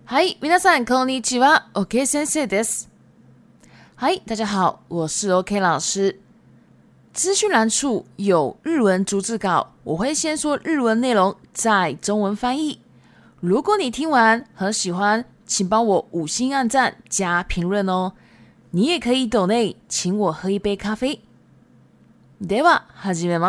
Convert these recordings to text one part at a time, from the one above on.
はい、皆さんこんにちは OK 先生です。嗨，大家好，我是 OK 老师。资讯栏处有日文逐字稿，我会先说日文内容，再中文翻译。如果你听完很喜欢，请帮我5星按赞加评论哦。你也可以抖内请我喝一杯咖啡。では始めます。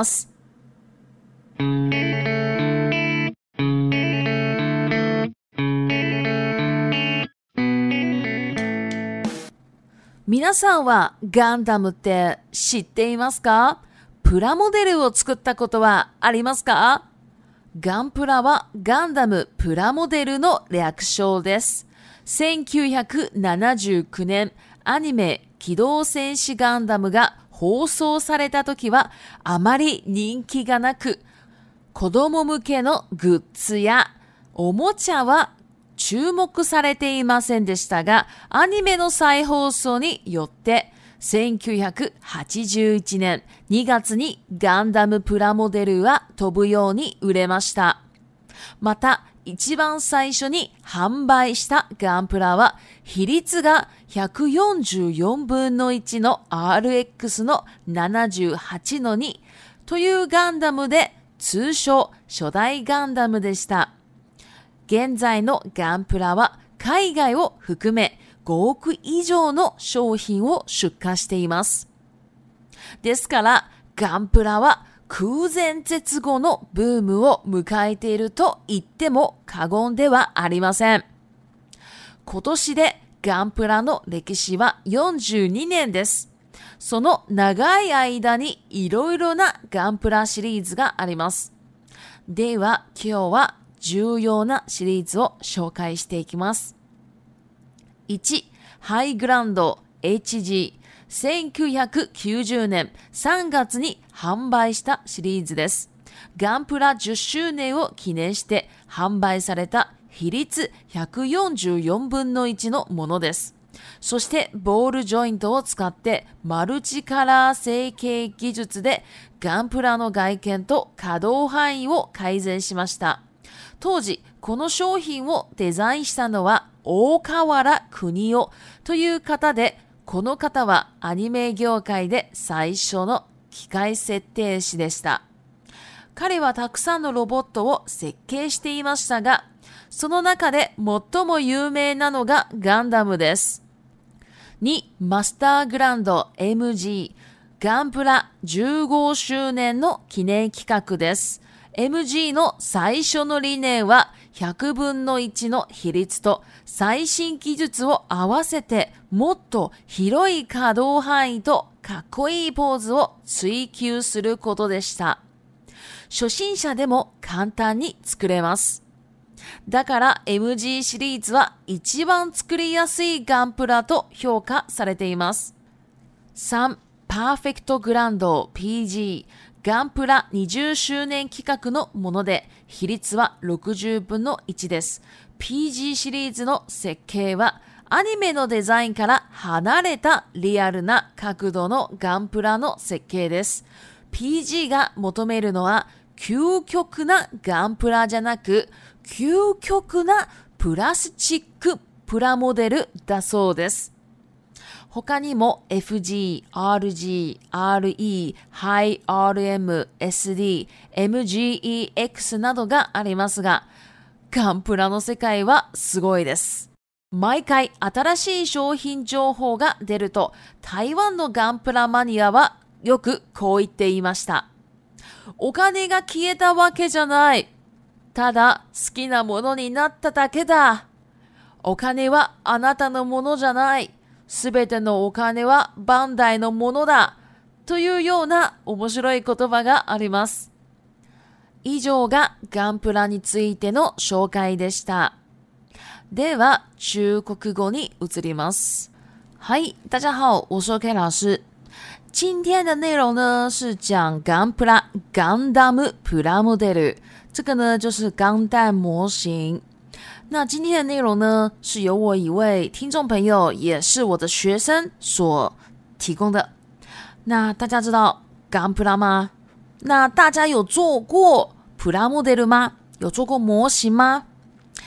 皆さんはガンダムって知っていますか？プラモデルを作ったことはありますか？ガンプラはガンダムプラモデルの略称です。1979年、アニメ機動戦士ガンダムが放送された時はあまり人気がなく、子供向けのグッズやおもちゃは注目されていませんでしたが、アニメの再放送によって1981年2月にガンダムプラモデルは飛ぶように売れました。また、一番最初に販売したガンプラは比率が144分の1の RX の78の2というガンダムで、通称初代ガンダムでした。現在のガンプラは海外を含め5億以上の商品を出荷しています。ですから、ガンプラは空前絶後のブームを迎えていると言っても過言ではありません。今年でガンプラの歴史は42年です。その長い間にいろいろなガンプラシリーズがあります。では、今日は重要なシリーズを紹介していきます。1、ハイグランド HG。1990年3月に販売したシリーズです。ガンプラ10周年を記念して販売された比率144分の1のものです。そしてボールジョイントを使ってマルチカラー成形技術でガンプラの外見と可動範囲を改善しました。当時、この商品をデザインしたのは大河原邦夫という方で、この方はアニメ業界で最初の機械設計士でした。彼はたくさんのロボットを設計していましたが、その中で最も有名なのがガンダムです。2、マスターグランド MG。ガンプラ15周年の記念企画です。MG の最初の理念は100分の1の比率と最新技術を合わせてもっと広い可動範囲とかっこいいポーズを追求することでした。初心者でも簡単に作れます。だから MG シリーズは一番作りやすいガンプラと評価されています。3、パーフェクトグランド PG。ガンプラ20周年企画のもので、比率は60分の1です。PG シリーズの設計は、アニメのデザインから離れたリアルな角度のガンプラの設計です。PG が求めるのは、究極なガンプラじゃなく、究極なプラスチックプラモデルだそうです。他にも FG、RG、RE、High RM、SD、MGEX などがありますが、ガンプラの世界はすごいです。毎回新しい商品情報が出ると、台湾のガンプラマニアはよくこう言っていました。お金が消えたわけじゃない。ただ好きなものになっただけだ。お金はあなたのものじゃない。すべてのお金はバンダイのものだ。というような面白い言葉があります。以上がガンプラについての紹介でした。では、中国語に移ります。はい、大家好，我是 OK 老师。今天的内容呢是讲ガンプラ、ガンダムプラモデル。这个呢就是钢弹模型。那今天的内容呢，是由我一位听众朋友，也是我的学生所提供的。那大家知道ガンプラ吗？那大家有做过プラモデル吗？有做过模型吗？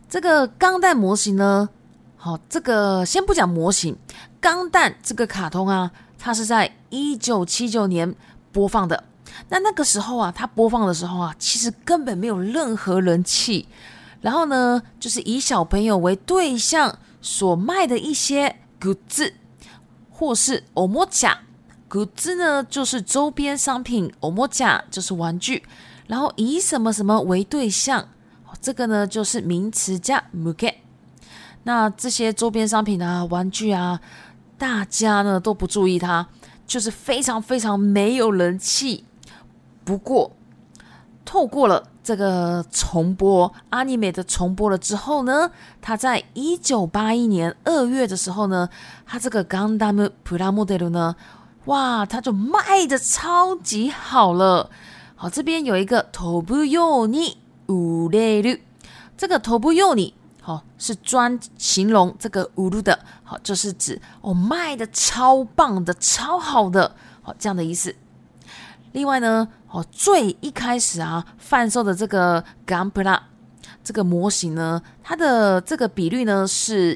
这个钢弹模型呢，好，这个先不讲模型，钢弹这个卡通啊，它是在1979年播放的。那个时候啊，它播放的时候啊，其实根本没有任何人气。然后呢，就是以小朋友为对象所卖的一些グッズ，或是おもちゃ。グッズ呢就是周边商品，おもちゃ就是玩具。然后以什么什么为对象，这个呢就是名词加向け。那这些周边商品啊、玩具啊，大家呢都不注意它，就是非常非常没有人气。不过，透过了这个重播，anime的重播了之后呢，它在1981年2月的时候呢，它这个ガンダムプラモデル呢，哇，它就卖的超级好了。好，这边有一个飛ぶように売れる，这个飛ぶように好是专形容这个売る的，好就是指卖的超棒的、超好的，好这样的意思。另外呢，最一开始啊贩售的这个ガンプラ这个模型呢，它的这个比率呢是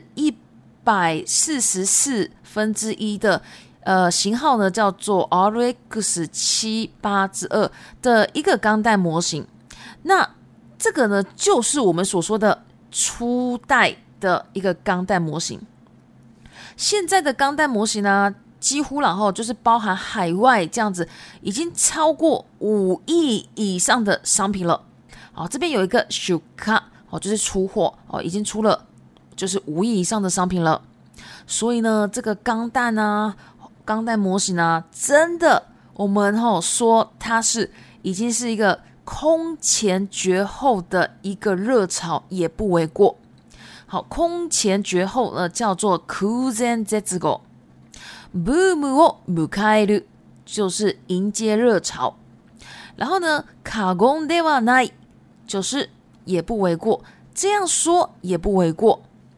144/1的型号呢叫做 RX78-2 的一个钢弹模型。那这个呢就是我们所说的初代的一个钢弹模型。现在的钢弹模型呢，几乎然后就是包含海外这样子，已经超过5亿以上的商品了。好，这边有一个出貨，就是出货，已经出了就是5亿以上的商品了。所以呢，这个钢弹啊、钢弹模型啊，真的我们说它是已经是一个空前绝后的一个热潮，也不为过。好，空前绝後呢叫做空前絶後。ブームを迎える就是迎接热潮，然后呢，過言ではない就是也不为过，这样说也不为过。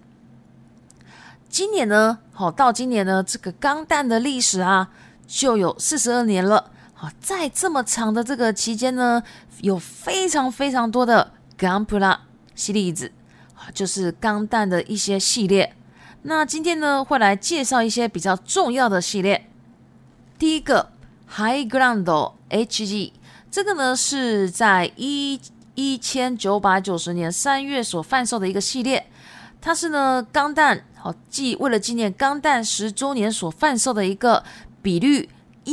今年呢，到今年呢，这个钢弹的历史啊，就有42年了。在这么长的这个期间呢，有非常非常多的ガンプラ系列子，就是钢弹的一些系列。那今天呢，会来介绍一些比较重要的系列。第一个 High Ground HG， 这个呢是在1990年3月所贩售的一个系列。它是呢钢弹为了纪念钢弹10周年所贩售的一个比率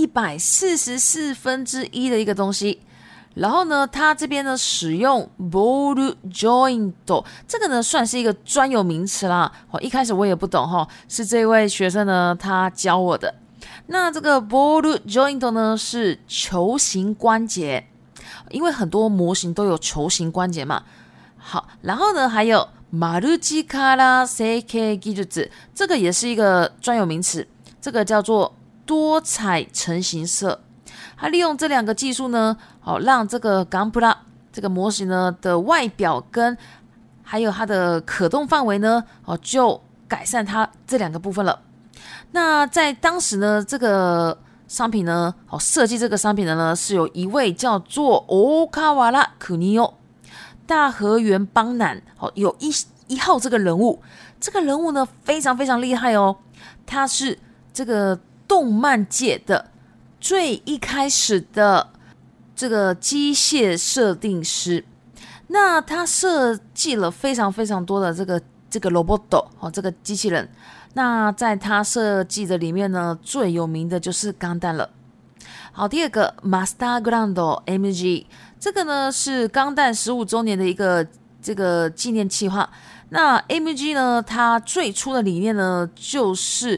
144/1的一个东西。然后呢，它这边呢使用 ball joint， 这个呢算是一个专有名词啦。一开始我也不懂是这位学生呢他教我的。那这个 ball joint 呢是球形关节，因为很多模型都有球形关节嘛。好，然后呢还有マルチカラ成形技術，这个也是一个专有名词，这个叫做多彩成型色。它利用这两个技术呢，让这个ガンプラ这个模型呢的外表跟还有它的可动范围呢，就改善它这两个部分了。那在当时呢，这个商品呢，设计这个商品的呢是有一位叫做大河原邦夫，大河原邦男，有一号这个人物。这个人物呢非常非常厉害哦，他是这个动漫界的最一开始的这个机械设定师。那他设计了非常非常多的这个 robot， 这个机器人。那在他设计的里面呢，最有名的就是钢弹了。好，第二个 Master Ground MG， 这个呢是钢弹15周年的一个这个纪念企划。那 MG 呢，它最初的理念呢就是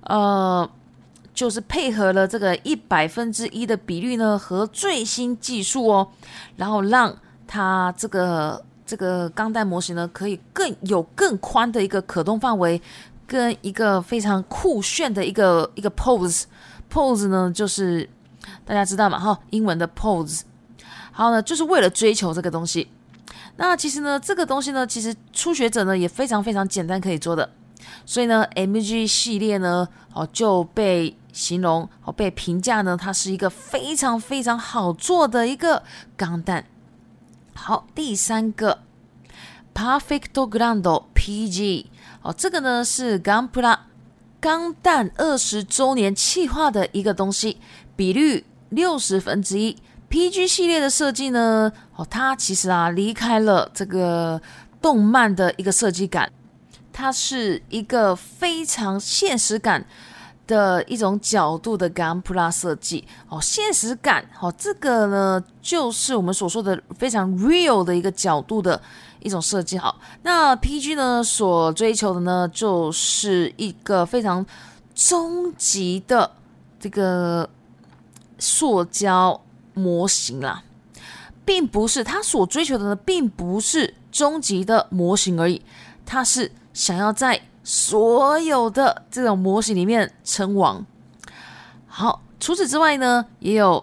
配合了这个100%的比率呢和最新技术哦，然后让它这个钢弹模型呢可以更宽的一个可动范围，跟一个非常酷炫的一个 pose 呢，就是大家知道嘛英文的 pose。好呢，就是为了追求这个东西。那其实呢，这个东西呢，其实初学者呢也非常非常简单可以做的。所以呢 MG 系列呢就被形容被评价呢它是一个非常非常好做的一个钢弹。好，第三个 Perfect Grand PG 这个呢是ガンプラ钢弹20周年企划的一个东西，比率1/60。PG 系列的设计呢，它其实离开了这个动漫的一个设计感，它是一个非常现实感的一种角度的ガンプラ设计现实感这个呢就是我们所说的非常 real 的一个角度的一种设计。好，那 PG 呢所追求的呢就是一个非常终极的这个塑胶模型啦，并不是他所追求的呢并不是终极的模型而已，他是想要在所有的这种模型里面称王。好，除此之外呢也有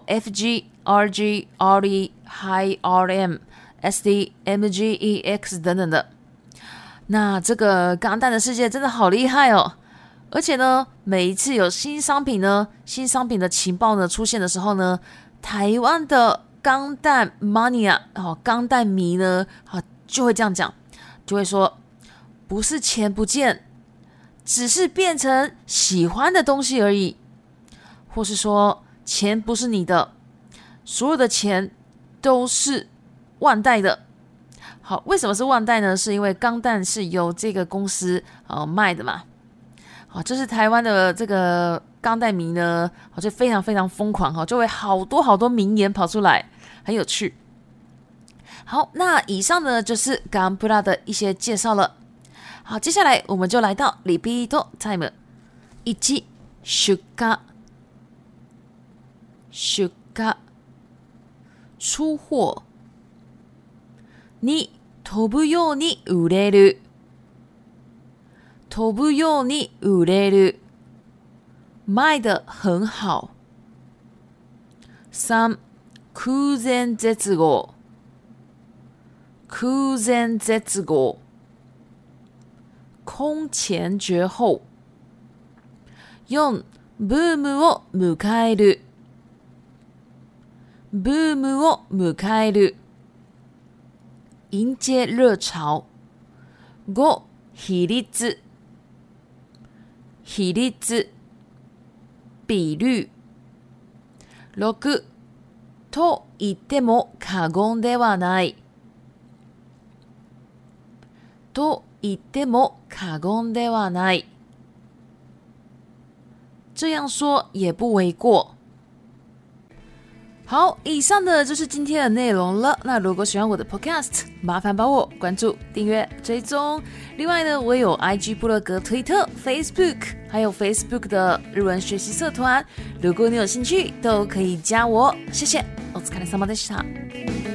FG、RG、RE、High RM、SD、MG、EX 等等的。那这个钢弹的世界真的好厉害而且呢每一次有新商品的情报呢出现的时候呢，台湾的钢弹 mania 钢弹迷呢就会这样讲，就会说不是钱不见，只是变成喜欢的东西而已，或是说钱不是你的，所有的钱都是万代的。好，为什么是万代呢？是因为钢弹是由这个公司卖的嘛。好，就是台湾的这个钢弹迷呢就非常非常疯狂就会好多名言跑出来，很有趣。好，那以上呢就是ガンプラ的一些介绍了。好，接下来我们就来到リピートタイム。1、出荷出貨。2、飛ぶように売れる卖得很好。3、空前絶後空前绝后。4、ブームを迎える迎接热潮。5、比率比率。6、と言っても過言ではない这样说也不为过。好，以上的就是今天的内容了。那如果喜欢我的 podcast， 麻烦帮我关注、订阅、追踪。另外呢，我有 IG 部落格、推特、Facebook， 还有 Facebook 的日文学习社团。如果你有兴趣，都可以加我。谢谢，お疲れ様でした。